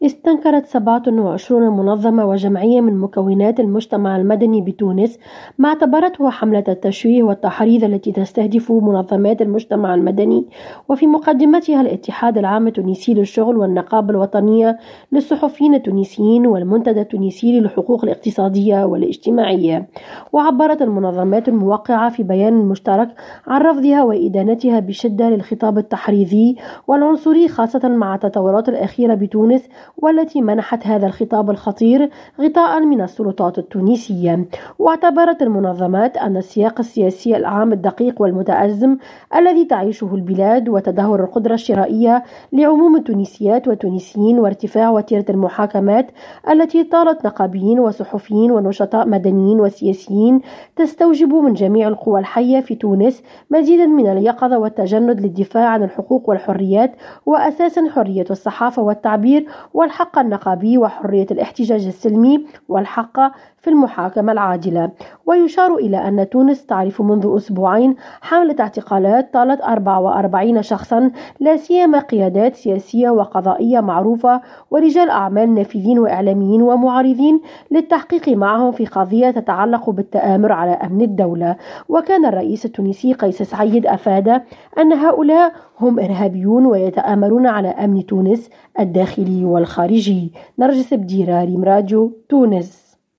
استنكرت 27 منظمة وجمعية من مكونات المجتمع المدني بتونس ما اعتبرته حملة التشويه والتحريض التي تستهدف منظمات المجتمع المدني، وفي مقدمتها الاتحاد العام التونسي للشغل والنقابة الوطنية للصحفيين التونسيين والمنتدى التونسي للحقوق الاقتصادية والاجتماعية. وعبرت المنظمات الموقعة في بيان مشترك عن رفضها وإدانتها بشدة للخطاب التحريضي والعنصري، خاصة مع التطورات الأخيرة بتونس والتي منحت هذا الخطاب الخطير غطاء من السلطات التونسية. واعتبرت المنظمات أن السياق السياسي العام الدقيق والمتأزم الذي تعيشه البلاد وتدهور القدرة الشرائية لعموم التونسيات والتونسيين وارتفاع وتيرة المحاكمات التي طالت نقابيين وصحفيين ونشطاء مدنيين وسياسيين تستوجب من جميع القوى الحية في تونس مزيدا من اليقظة والتجند للدفاع عن الحقوق والحريات، وأساسا حرية الصحافة والتعبير والحق النقابي وحرية الاحتجاج السلمي والحق في المحاكمة العادلة. ويشار إلى أن تونس تعرف منذ أسبوعين حملة اعتقالات طالت 44 شخصا، لا سيما قيادات سياسية وقضائية معروفة ورجال أعمال نافذين وإعلاميين ومعارضين، للتحقيق معهم في قضية تتعلق بالتآمر على أمن الدولة. وكان الرئيس التونسي قيس سعيد أفاد أن هؤلاء هم إرهابيون ويتآمرون على أمن تونس الداخلي والخارجي. نرجس بديرة، ريم راديو، تونس.